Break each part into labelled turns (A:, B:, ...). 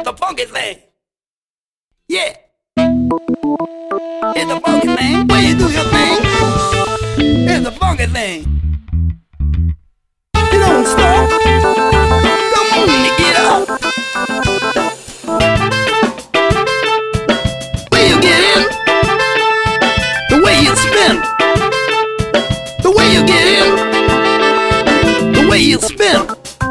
A: the funky thing. Yeah. It's the funky thing. When you do your thing, it's the funky thing. You don't stop. Come on and get up. When you get in, the way you spin, the way you get in, the way you spin.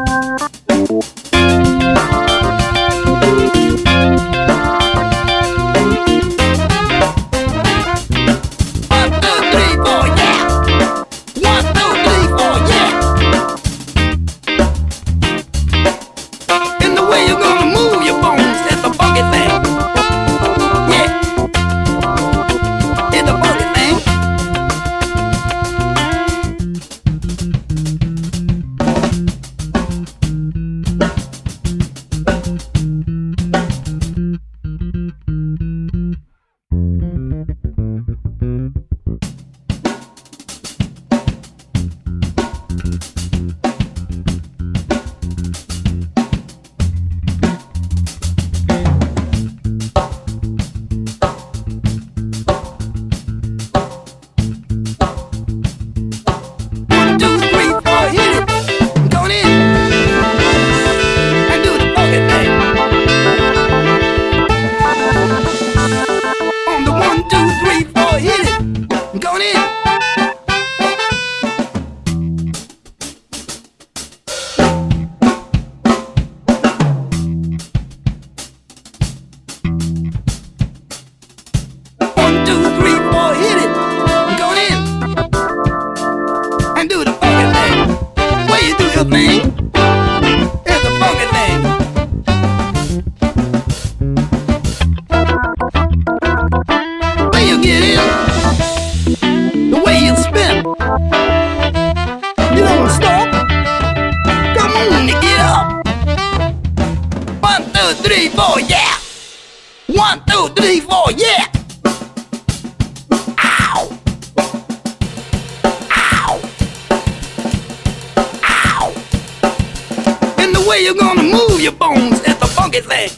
A: You're gonna move your bones. It's the funky thing.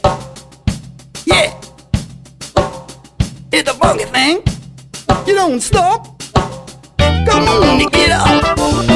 A: Yeah. It's the funky thing. You don't stop. Come on and get up.